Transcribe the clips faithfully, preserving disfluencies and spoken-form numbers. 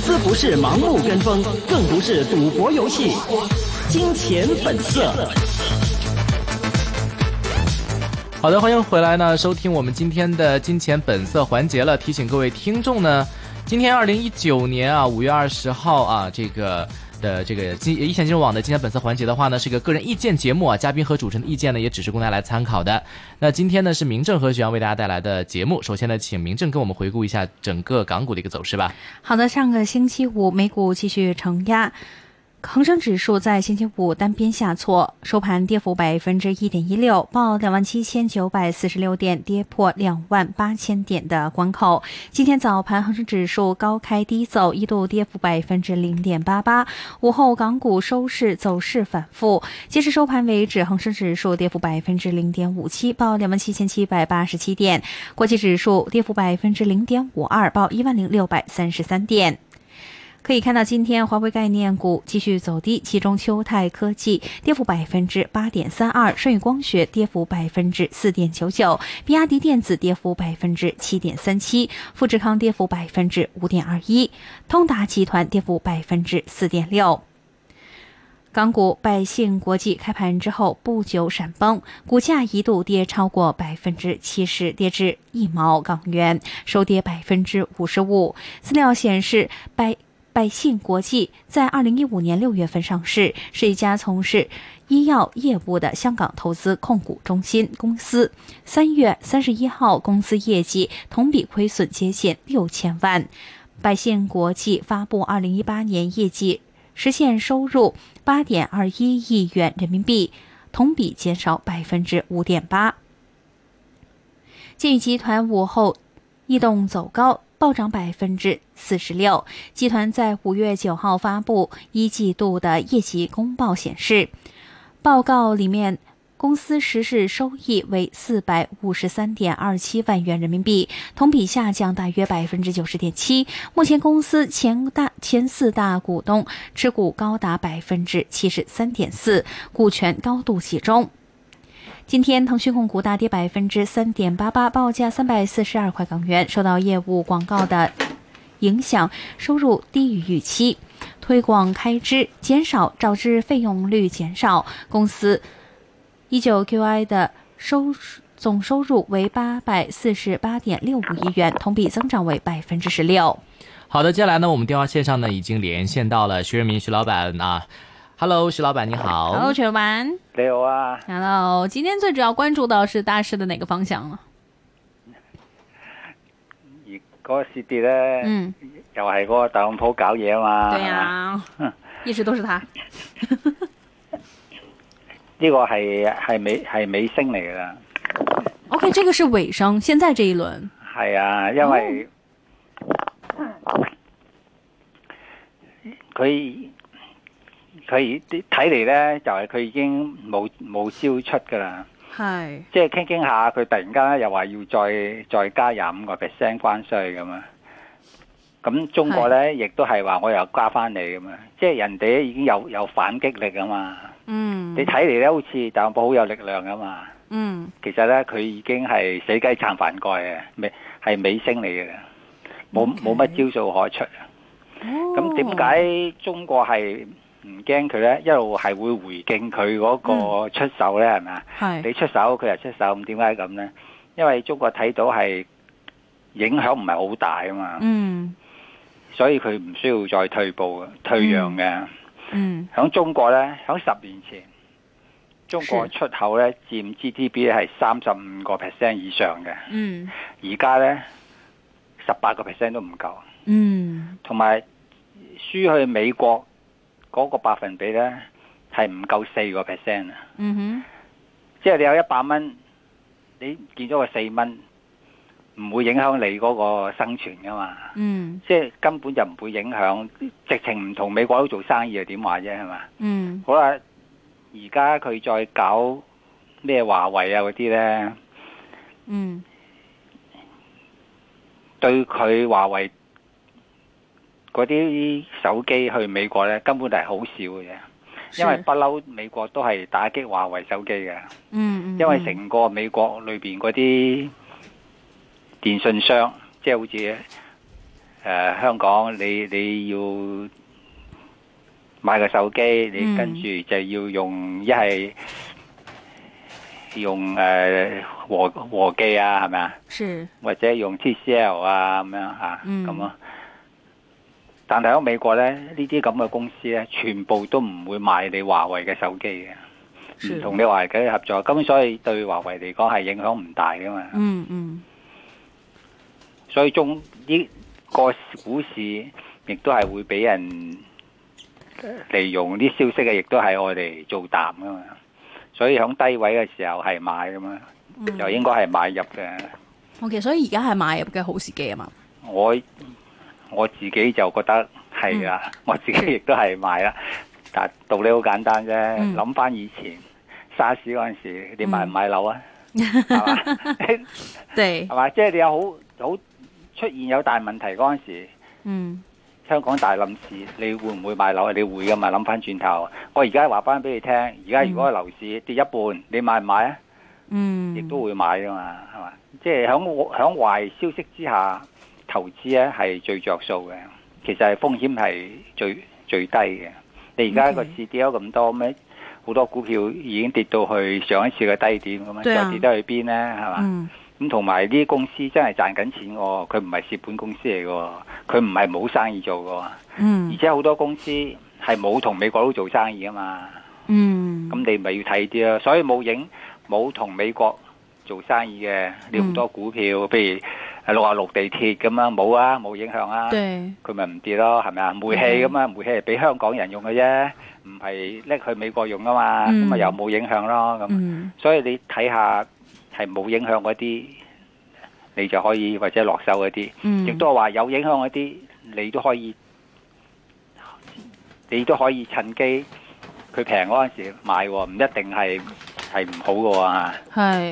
资不是盲目跟风，更不是赌博游戏。金钱本色。 好的，欢迎回来呢，收听我们今天的金钱本色环节了。提醒各位听众呢，今天二零一九年啊五月二十号啊，这个的这个金一线金融网的金钱本色环节的话呢，是个个人意见节目啊，嘉宾和主持人的意见呢，也只是供大家来参考的。那今天呢，是明正和许阳为大家带来的节目。首先呢，请明正跟我们回顾一下整个港股的一个走势吧。 好的，上个星期五美股继续承压。恒生指数在星期五单边下挫，收盘跌幅百分之一点一六，报两万七千九百四十六点，跌破两万八千点的关口。今天早盘恒生指数高开低走，一度跌幅百分之零点八八。午后港股收市走势反复，截至收盘为止，恒生指数跌幅百分之零点五七，报两万七千七百八十七点；国际指数跌幅百分之零点五二，报一万零六百三十三点。可以看到，今天华为概念股继续走低，其中秋泰科技跌幅百分之八点三二，舜宇光学跌幅百分之四点九九，比亚迪电子跌幅百分之七点三七，富士康跌幅百分之五点二一，通达集团跌幅百分之四点六。港股百信国际开盘之后不久闪崩，股价一度跌超过百分之七十，跌至一毛港元，收跌百分之五十五。资料显示，百百信国际在二零一五年六月份上市，是一家从事医药业务的香港投资控股中心公司。三月三十一号，公司业绩同比亏损接近六千万。百信国际发布二零一八年业绩，实现收入八点二一亿元人民币，同比减少百分之五点八。建宇集团午后异动走高，暴涨百分之四十六。集团在五月九号发布一季度的业绩公报显示，报告里面公司实时收益为四百五十三点二七万元人民币，同比下降大约百分之九十点七。目前公司前大前四大股东持股高达百分之七十三点四，股权高度集中。今天腾讯控股大跌百分之三点八八，报价三百四十二块港元，受到业务广告的影响，收入低于预期，推广开支减少导致费用率减少。公司一九 Q I 的收总收入为八百四十八点六五亿元，同比增长为百分之十六。 好的，接下来呢，我们电话线上呢已经连线到了徐仁明徐老板啊。Hello， 徐老板你好。 Hello， 徐老板。 你好啊。 Hello， 今天最主要關注到是大市的哪個方向呢？ 而嗰個市跌咧，嗯，又係嗰個特朗普搞嘢啊嘛。 對啊，一直都是他。 呢個係係尾係尾聲嚟㗎啦。 OK， 這個是尾聲，現在這一輪。 係啊，因為佢。哦佢睇嚟咧，就係、是、佢已經冇冇招出噶啦，係即係傾傾下，佢突然間咧又話要再再加廿五個 percent 關稅咁啊！咁中國咧亦都係話我又加翻你咁啊！即係人哋已經有有反擊力啊嘛！嗯，你睇嚟咧好似特朗普好有力量啊嘛！嗯，其實咧佢已經係死雞撐飯蓋嘅，尾係尾聲嚟嘅，冇冇乜招數可出。咁點解中國係？唔驚佢咧，一路係會回敬佢嗰個出手咧，係咪啊？你出手，佢又出手，咁點解咁咧？因為中國睇到係影響唔係好大啊嘛，嗯，所以佢唔需要再退步、退讓嘅。嗯，喺中國咧，喺十年前，中國出口咧佔 G D P 係三十五個 percent 以上嘅。嗯，而家咧十八個 percent 都唔夠。嗯，同埋輸去美國。嗰個百分比咧係唔夠四個 percent 啊！嗯哼，即係你有一百蚊，你見咗個四蚊，唔會影響你嗰個生存噶嘛？嗯，即係根本就唔會影響，直情唔同美國佬做生意啊？點話啫？係嘛？嗯，好啦，而家佢再搞咩華為啊嗰啲咧，嗯，對佢華為。嗰啲手機去美國咧，根本就係好少嘅啫，因為不嬲美國都係打擊華為手機嘅。嗯，因為成個美國裏邊嗰啲電信商，即係好似呃、香港你你要買個手機，你跟住就要用一係用誒、呃、和和記啊，係咪啊？ 是或者用 T C L 啊咁樣嚇，咁咯、嗯。但係喺美國咧，呢啲咁嘅公司咧，全部都唔會買你華為嘅手機嘅，唔同你華為嘅合作，咁所以對華為嚟講係影響唔大噶嘛。 嗯嗯。 所以中呢個股市亦都係會俾人利用啲消息嘅，亦都係我哋做淡噶嘛。所以喺低位嘅時候係買噶嘛，嗯、就應該係買入嘅。 OK， 所以而家係買入嘅好時機啊嘛。 我我自己就覺得係啦，嗯、我自己亦都係買啦。但道理好簡單啫，諗翻、嗯、以前沙士嗰陣時，你買唔買樓啊？係嘛？ 對， 係嘛？即係你有好好出現有大問題嗰陣時，嗯，香港大冧市，你會唔會買樓啊？你會噶嘛？諗翻轉頭，我而家話翻俾你聽，而家如果樓市跌一半，你買唔買啊？嗯，亦都會買噶嘛，係嘛？即係響響壞消息之下，投資咧係最着數嘅，其實係風險係最最低嘅。你而家個市跌咗咁多咩？好多股票已經跌到去上一次嘅低點咁樣，再跌得去邊咧？係嘛？咁同埋呢啲公司真係賺緊錢喎，佢唔係蝕本公司嚟嘅，佢唔係冇生意做嘅。嗯，而且好多公司係冇同美國佬做生意啊嘛。嗯，咁你咪要睇啲咯。所以冇影冇同美國做生意嘅，你好多股票，譬如六啊六地鐵咁樣，冇啊，冇影響啊。對，佢咪唔跌咯，係咪啊？煤氣咁啊，煤氣係俾香港人用嘅啫，唔係拎去美國用啊嘛，咁咪又冇影響咯。咁，所以你睇下係冇影響嗰啲，你就可以或者落手嗰啲，亦都係話有影響嗰啲，你都可以，你都可以趁機佢平嗰陣時買，唔一定係係唔好嘅喎。係。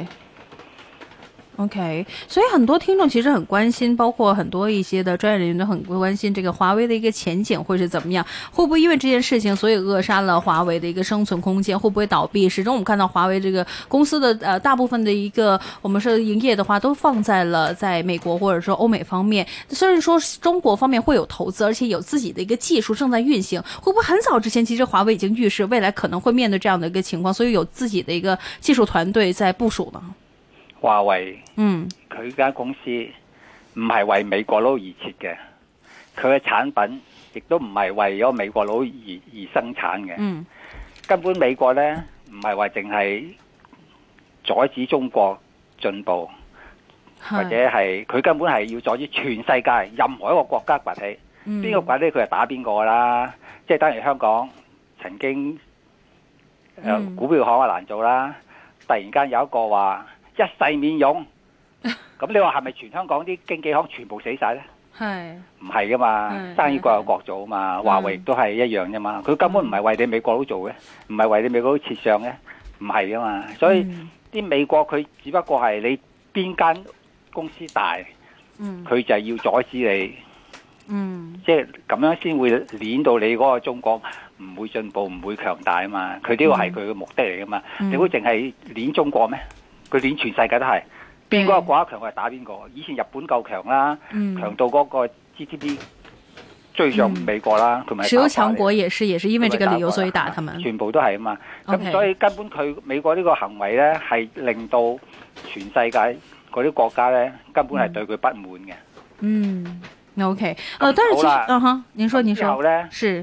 OK， 所以很多聽眾其實很關心，包括很多一些的專業人員都很關心這個華為的一個前景會是怎麼樣，會不會因為這件事情所以扼殺了華為的一個生存空間，會不會倒閉？始終我們看到華為這個公司的呃大部分的一個我們說營業的話都放在了在美國或者說歐美方面，雖然說中國方面會有投資，而且有自己的一個技術正在運行，會不會很早之前其實華為已經預示未來可能會面對這樣的一個情況，所以有自己的一個技術團隊在部署呢？ 華為，嗯，佢間公司唔係為美國佬而設嘅，佢嘅產品亦都唔係為咗美國佬而而生產嘅。嗯，根本美國呢唔係話淨係阻止中國進步，是或者係佢根本係要阻止全世界任何一個國家崛起。邊、嗯、個崛起佢就打邊個啦，即係等於香港曾經誒、呃嗯、股票行啊難做啦，突然間有一個話。一世免佣，咁你話係咪全香港啲經紀行全部死晒呢？係唔係噶嘛？生意各有各做啊嘛。華為都係一樣啫嘛。佢根本唔係為你美國佬做嘅，唔係為你美國佬設想嘅，唔係噶嘛。所以啲、嗯、美國佢只不過係你邊間公司大，佢、嗯、就係要阻止你。嗯，即係咁樣先會鏈到你嗰個中國唔會進步，唔會強大啊嘛。佢呢個係佢嘅目的嚟噶嘛。嗯、你會淨係鏈中國咩？佢連全世界都係，邊個國家強佢係打邊個。以前日本夠強啦，嗯、強到嗰個 G D P 追上美國啦，同埋、嗯。 石油強國也是，也是因為這個理由所以打他們。 全部都係啊嘛，咁 Okay. 所以根本佢美國呢個行為咧，係令到全世界嗰啲國家咧，根本係對佢不滿嘅。 嗯，OK，誒，但係其實，嗯哼，您說，您說。之後咧，是，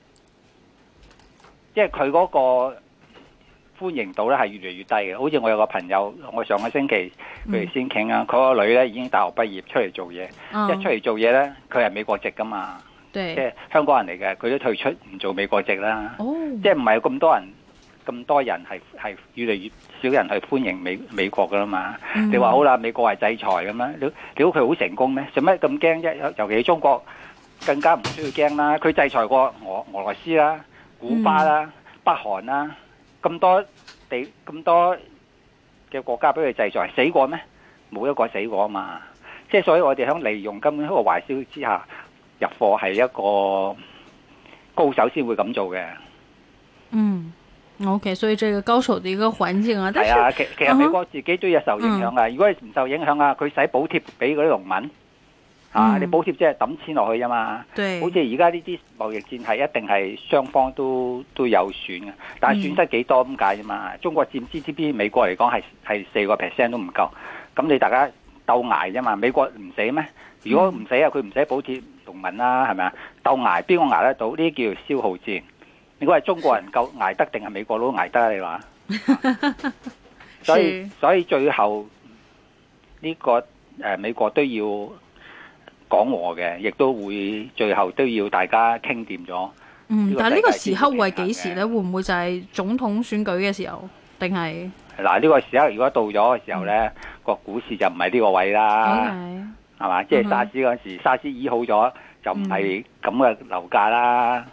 即係佢嗰個。歡迎度咧係越嚟越低嘅，好似我有個朋友，我上個星期佢哋先傾啊，佢、嗯、個女咧已經大學畢業出嚟做嘢，哦、一出嚟做嘢咧，佢係美國籍噶嘛，對即係香港人嚟嘅，佢都退出唔做美國籍啦，哦、即係唔係咁多人咁多人係係越嚟越少人去歡迎美美國噶啦嘛？嗯、你話好啦，美國係制裁咁樣，你你估佢好成功咩？做咩咁驚啫？尤其中國更加唔需要驚啦，佢制裁過俄俄羅斯啦、古巴啦、嗯、北韓啦。咁多地咁多嘅國家俾佢制裁，死過咩？冇一個死過啊嘛！即係所以我哋響利用根本一個壞消息之下入貨係一個高手先會咁做嘅。嗯 ，OK， 所以這個高手的一個環境啊，係啊，其其實美國自己都有受影響啊。嗯、如果你唔受影響啊，佢使補貼俾嗰啲農民， 啊！你補貼即係抌錢落去啫嘛， 對， 好似而家呢啲貿易戰係一定係雙方都都有損嘅，但係損失幾多咁解啫嘛？中國佔 G D P， 美國嚟講係係四個 percent 都唔夠，咁你大家鬥捱啫嘛？美國唔死咩？如果唔死啊，佢唔使補貼農民啦，係咪啊？鬥捱邊個捱得到？呢啲叫做消耗戰。你估係中國人夠捱得定係美國佬捱得啊？你話？所以所以最後呢、這個誒、呃、美國都要講和嘅，亦都會最後都要大家傾掂咗。 嗯，但係呢個時刻會係幾時咧？會唔會就係總統選舉嘅時候，定係？嗱， 呢個時刻如果到咗嘅時候咧，個、嗯、股市就唔係呢個位啦，係嘛？即係沙士嗰陣時，沙士醫好咗就唔係咁嘅樓價啦。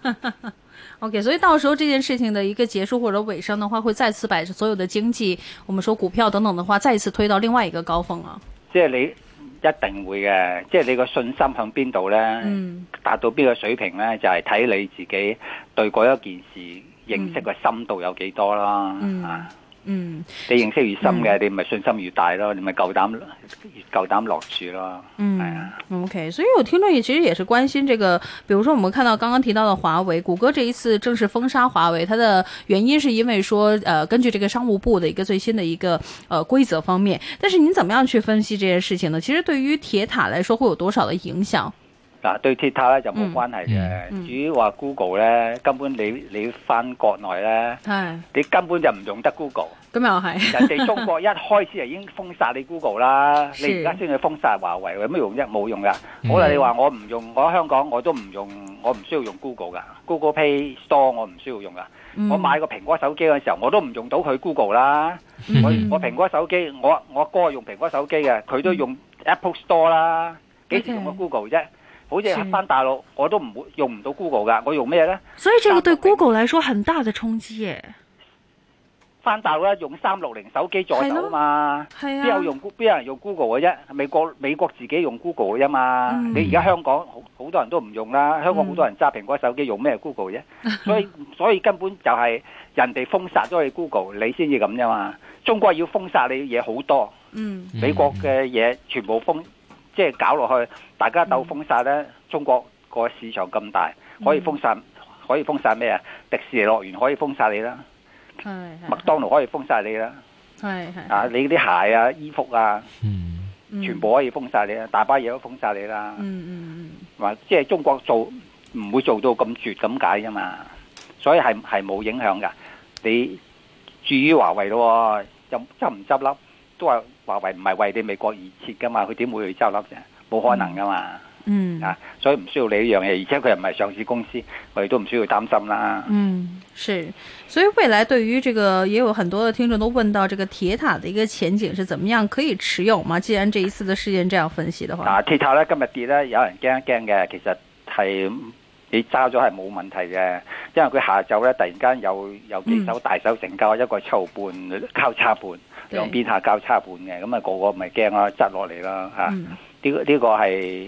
OK， 所以到時候這件事情的一個結束或者尾聲的話，會再次把所有的經濟，我們說股票等等的話，再一次推到另外一個高峰啊。 即係你。一定會嘅，即係你個信心向邊度呢？嗯、達到邊個水平呢？就係、是、睇你自己對嗰一件事認識嘅深度有幾多啦。嗯、啊，嗯，你認識越深嘅，嗯、你咪信心越大咯，你咪夠膽越夠膽落注咯。嗯，係啊。 OK， 所以有聽眾也其實也是關心這個，比如說我們看到剛剛提到的華為，谷歌這一次正式封殺華為，它的原因是因為說，呃，根據這個商務部的一個最新的一個呃規則方面，但是您怎麼樣去分析這件事情呢？其實對於鐵塔來說，會有多少的影響？ 嗱，對鐵塔咧就冇關係嘅。嗯、至於話 Google 咧，根本你你翻國內咧，是你根本就唔用得 Google。 咁又係， 人哋中國一開始就已經封殺你 Google 啦，是你而家先去封殺華為，有咩用啫？冇用噶。嗯、好啦，你話我唔用，我喺香港我都唔用，我唔需要用 Google 噶 ，Google Play Store 我唔需要用噶。嗯、我買個蘋果手機嘅時候，我都唔用到佢 Google 啦。嗯、我我蘋果手機，我我哥用蘋果手機嘅，佢都用 Apple Store 啦，幾時用過 Google 啫？好似翻大陸，我都唔會用唔到 Google 噶，我用咩咧？ 所以這個對 Google 來說很大的衝擊耶。 翻大陸咧用三六零手機助手啊嘛，邊有用邊有人用 Google 嘅啫？美國美國自己用 Google 嘅啫嘛。嗯、你而家香港好好多人都唔用啦，香港好多人揸蘋果手機用咩 Google 啫？嗯、所以所以根本就係人哋封殺咗你 Google，你先至咁啫嘛。中國要封殺你嘢好多，嗯、美國嘅嘢全部封。即係搞落去，大家鬥封殺咧。嗯、中國個市場咁大，可以封殺，嗯、可以封殺咩啊？迪士尼樂園可以封殺你啦，麥當勞可以封殺你啦，係係啊，你啲鞋啊、衣服啊，嗯、全部可以封殺你啦，大把嘢都封殺你啦。嗯嗯嗯，話即係中國做唔會做到咁絕咁解啫嘛，所以係係冇影響噶。你至於華為咯，執執唔執笠都話。華為唔係為你美國而設噶嘛，佢點會去執笠啫？冇可能噶嘛。嗯啊，所以唔需要你呢樣嘢，而且佢又唔係上市公司，我哋都唔需要擔心啦。嗯， 是，所以未來對於這個，也有很多的聽眾都問到，這個鐵塔的一個前景是怎麼樣？可以持有嗎？既然這一次的事件這樣分析的話， 嗱、啊，鐵塔咧今日跌咧，有人驚一驚嘅，其實係你揸咗係冇問題嘅，因為佢下晝咧突然間有有幾手大手成交，嗯、一個七毫半交叉盤。兩邊下交叉盤嘅，咁、那、啊個個咪驚啦，執落嚟啦嚇。呢呢、嗯這個係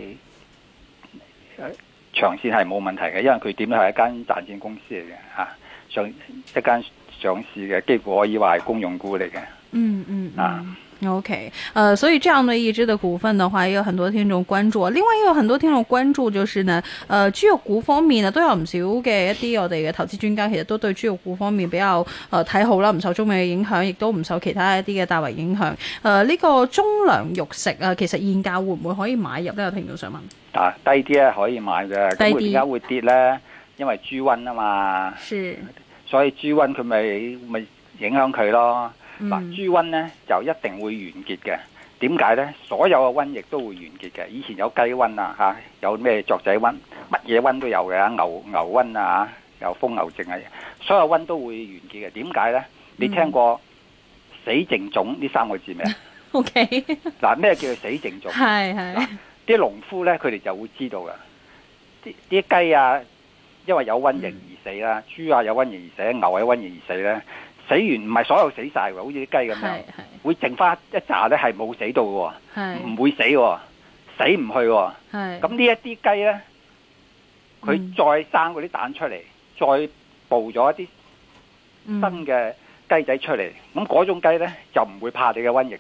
長線係冇問題嘅，因為佢點都係一間賺錢公司嚟嘅嚇，上一間上市嘅，幾乎可以話係公用股嚟嘅。嗯嗯啊。 OK，呃，所以這樣的一支的股份的話，也有很多聽眾關注。另外，也有很多聽眾關注，就是呢，呃，豬肉股方面呢，都有唔少嘅一啲我哋嘅投資專家，其實都對豬肉股方面比較呃睇好啦，唔受中美嘅影響，亦都唔受其他一啲嘅大圍影響。呃，呢、這個中糧肉食啊，其實現價會唔會可以買入呢？有聽眾想問。 啊，低啲咧可以買嘅，咁佢點解會跌咧？因為豬瘟啊嘛， 是， 所以豬瘟佢咪咪影響佢咯。嗱，豬瘟咧就一定會完結嘅。點解咧？所有嘅瘟疫都會完結嘅。以前有雞瘟啊，嚇，有咩雀仔瘟，乜嘢瘟都有嘅。牛牛瘟啊，有瘋牛症啊，所有瘟都會完結嘅。點解咧？你聽過死淨種呢三個字未啊？O K。嗱，咩叫做死淨種？ 係係。 啲農夫咧，佢哋就會知道嘅。啲啲雞啊，因為有瘟疫而死啦；豬啊有瘟疫而死，牛有瘟疫而死咧。死完唔係所有死晒喎，好似啲雞咁樣，會剩翻一紮咧係冇死到嘅，唔會死嘅，死唔去嘅。咁呢一啲雞咧，佢再生嗰啲蛋出嚟，再孵咗一啲新嘅雞仔出嚟，咁嗰種雞咧就唔會怕你嘅瘟疫嘅，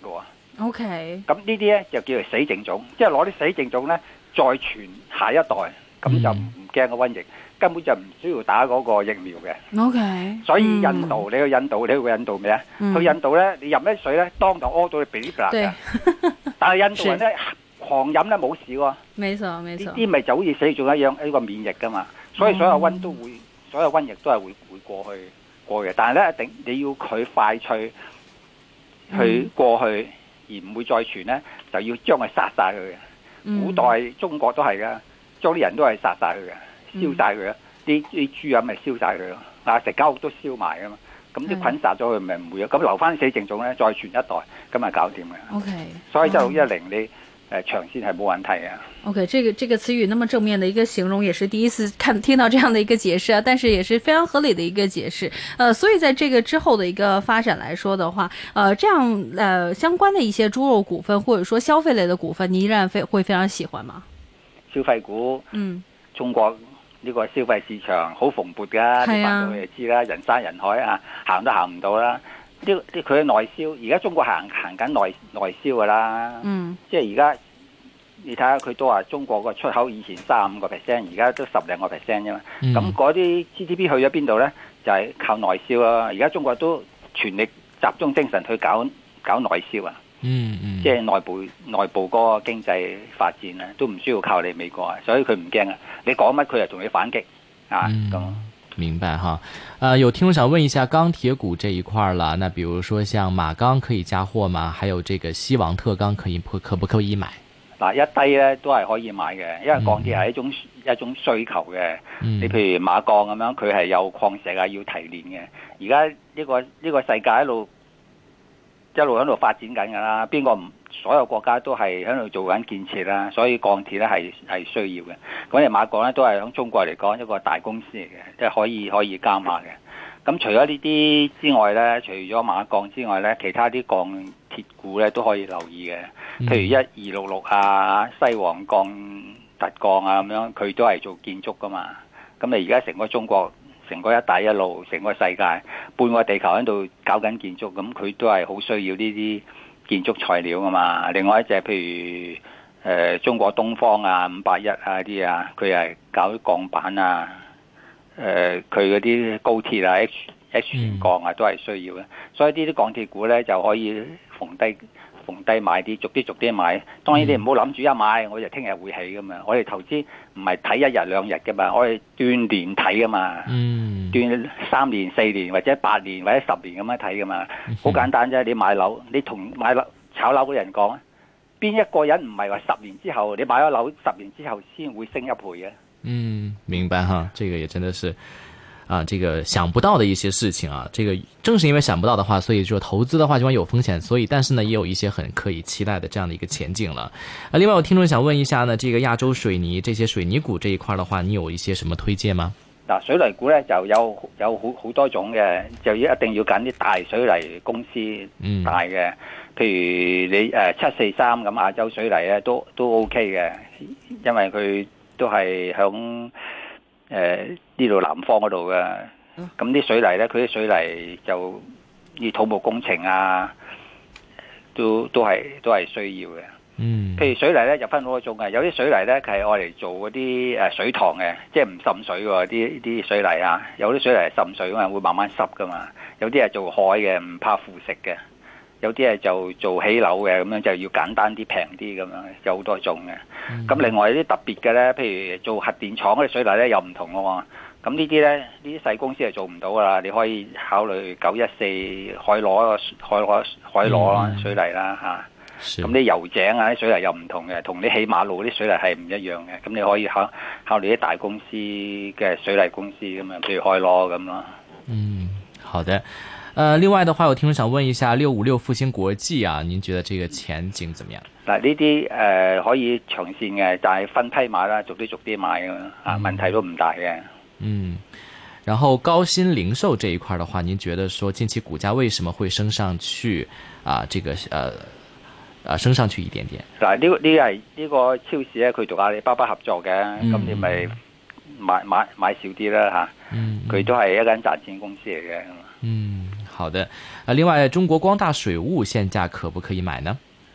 OK。 咁呢啲咧就叫做死剩種，即係攞啲死剩種咧再傳下一代，咁就唔驚個瘟疫，根本就唔需要打嗰個疫苗嘅。 OK。 所以印度，你去印度，你去過印度未啊？去印度咧，你飲啲水咧，當堂屙到你鼻哩㗎啦。但係印度人咧狂飲咧冇事喎。 沒錯，沒錯。呢啲咪就好似死種一樣，呢個免疫㗎嘛。所以所有瘟都會，所有瘟疫都係會會過去過嘅。但係咧，一定你要佢快脆去過去，而唔會再傳咧，就要將佢殺晒佢嘅。古代中國都係㗎，將啲人都係殺晒佢嘅，燒晒佢啊！啲啲豬啊咪燒晒佢咯，啊成間屋都燒埋㗎嘛。咁啲菌殺咗佢咪唔會啊？咁留翻死剩種咧，再傳一代，咁咪搞掂嘅。 OK。 所以一六一零你。呃，長線係冇問題啊。 OK，這個這個詞語那麼正面的一個形容，也是第一次看聽到這樣的一個解釋啊，但是也是非常合理的一個解釋。呃，所以在這個之後的一個發展來說的話，呃，這樣呃相關的一些豬肉股份或者說消費類的股份，你依然非會非常喜歡嗎？ 消費股，嗯，中國呢個消費市場好蓬勃噶，你翻到去就知啦，人山人海啊，行都行唔到啦。啲啲佢嘅內銷，而家中國行行緊內內銷噶啦，嗯，即係而家你睇下佢都話中國個出口以前三十五個 percent， 而家都十零個 percent 啫嘛，咁嗰啲 G D P 去咗邊度咧？就係、是、靠內銷啦。而家中國都全力集中精神去搞搞內銷啊，嗯嗯，即係內部內部嗰個經濟發展啊，都唔需要靠你美國啊，所以佢唔驚啊，你講乜佢就同你反擊啊咁。嗯明白哈，呃，有聽眾想問一下鋼鐵股這一塊了，那比如說像馬鋼可以加貨嗎？還有這個西王特鋼可以可不可以買？ 嗱，一低咧都係可以買嘅，因為鋼鐵係一種、嗯、一種需求嘅。嗯、你譬如馬鋼咁樣，佢係有礦石啊，要提煉嘅。而家呢個呢、這個世界一路一路喺度發展緊噶啦，邊個唔？所有國家都係喺度做緊建設啦，所以鋼鐵咧係係需要嘅。咁你馬鋼咧都係喺中國嚟講一個大公司嚟嘅，即係可以可以加碼嘅。咁除咗呢啲之外咧，除咗馬鋼之外咧，其他啲鋼鐵股咧都可以留意嘅。譬如一二六六啊、西王鋼、特鋼啊咁樣，佢都係做建築噶嘛。咁你而家成個中國、成個一帶一路、成個世界、半個地球喺度搞緊建築，咁佢都係好需要呢啲建築材料噶嘛。另外一隻譬如誒、呃、中國東方啊、五百一啊啲啊，佢係搞啲鋼板啊，誒佢嗰啲高鐵啊、H H 船鋼啊都係需要嘅。所以呢啲鋼鐵股咧就可以逢低逢低買啲，逐啲逐啲買。當然你唔好諗住一買我就聽日會起噶嘛。我哋投資唔係睇一日兩日噶嘛，我哋斷年睇噶嘛。嗯，斷三年、四年或者八年或者十年咁樣睇噶嘛。好簡單啫，你買樓，你同買樓炒樓嘅人講，邊一個人唔係話十年之後你買咗樓，十年之後先會升一倍嘅？ 嗯，明白哈，這個也真的是。啊，這個想不到的一些事情啊，這個正是因為想不到的話，所以說投資的話就會有風險，所以但是呢，也有一些很可以期待的這樣的一個前景了。啊，另外有聽眾想問一下呢，這個亞洲水泥這些水泥股這一塊的話，你有一些什麼推薦嗎？ 嗱，水泥股呢就有有好好多種嘅，就要一定要揀啲大水泥公司，嗯，大嘅，譬如你誒七四三咁亞洲水泥咧都都 OK 嘅，因為佢都係響。誒呢度南方嗰度嘅，咁啲水泥咧，佢啲水泥就啲土木工程啊，都都係都係需要嘅。嗯，譬如水泥咧就分好多種嘅，有啲水泥咧係愛嚟做嗰啲誒水塘嘅，即係唔滲水喎啲啲水泥啊。有啲水泥係滲水啊，會慢慢濕噶嘛。有啲係做海嘅，唔怕腐蝕嘅。有啲係就做起樓嘅，咁樣就要簡單啲、平啲咁樣，有好多種嘅。咁、嗯、另外啲特別嘅咧，譬如做核電廠嗰啲水泥咧又唔同喎。咁呢啲咧，呢啲細公司係做唔到噶啦。你可以考慮九一四海螺、海螺、海螺水泥啦嚇。咁啲油井啊啲水泥又唔同嘅，同你起馬路啲水泥係唔一樣嘅。咁你可以考考慮啲大公司嘅水泥公司咁樣，譬如海螺咁咯。 嗯，好的。呃，另外的話，有聽眾想問一下六五六復星國際啊，您覺得這個前景怎麼樣？ 嗱，呢啲誒可以長線嘅，但係分批買啦，逐啲逐啲買噶嘛，啊、嗯，問題都唔大嘅。嗯， 然後高新零售這一塊的話，您覺得說近期股價為什麼會升上去啊？這個呃，啊升上去一點點。 嗱，呢個呢係呢個超市咧，佢同阿里巴巴合作嘅，咁、嗯、你咪買買買少啲啦吓。嗯，佢都係一間賺錢公司嚟嘅。 嗯。好的，啊，另外中國光大水務現價可不可以買呢？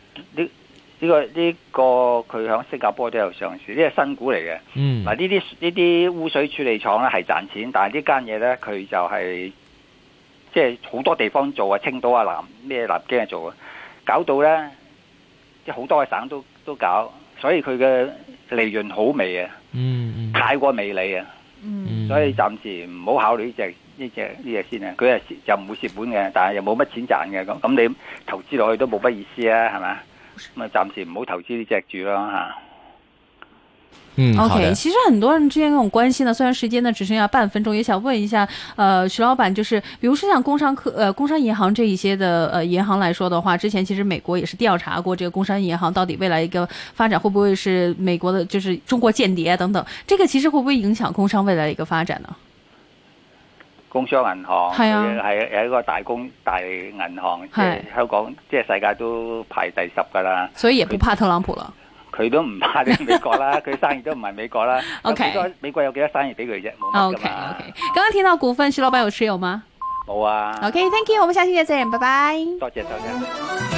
呢個呢個佢喺新加坡都有上市，呢係新股嚟嘅。 嗯， 嗱呢啲呢啲污水處理廠咧係賺錢，但係呢間嘢咧佢就係即係好多地方做啊，青島啊、南咩南京啊做啊，搞到咧即係好多個省都都搞，所以佢嘅利潤好微啊， 嗯嗯， 太過微利啊， 嗯， 所以暫時唔好考慮呢隻呢隻呢隻先啊。佢係就唔會蝕本嘅，但係又冇乜錢賺嘅，咁咁你投資落去都冇乜意思啊，係咪？咁啊，暫時唔好投資呢隻住咯吓。 嗯 ，OK， 其實很多人之間跟我關心呢，雖然時間呢只剩下半分鐘，也想問一下，呃，徐老闆，就是，比如說像工商科，呃，工商銀行這一些的，呃，銀行來說的話，之前其實美國也是調查過，這個工商銀行到底未來一個發展會不會是美國的，就是中國間諜等等，這個其實會不會影響工商未來的一個發展呢？ 工商銀行係啊， 係係一個大公大銀行，即係香港，即係世界都排第十噶啦。 所以也不怕特朗普了。 佢都唔怕啲美國啦，佢生意都唔係美國啦。 OK， 美國有幾多生意俾佢啫？冇乜噶嘛。 OK OK， 剛剛聽到股份，徐老闆有持有嗎？ 冇啊。 OK，Thank you，我們下期再見，拜拜。 多謝多謝。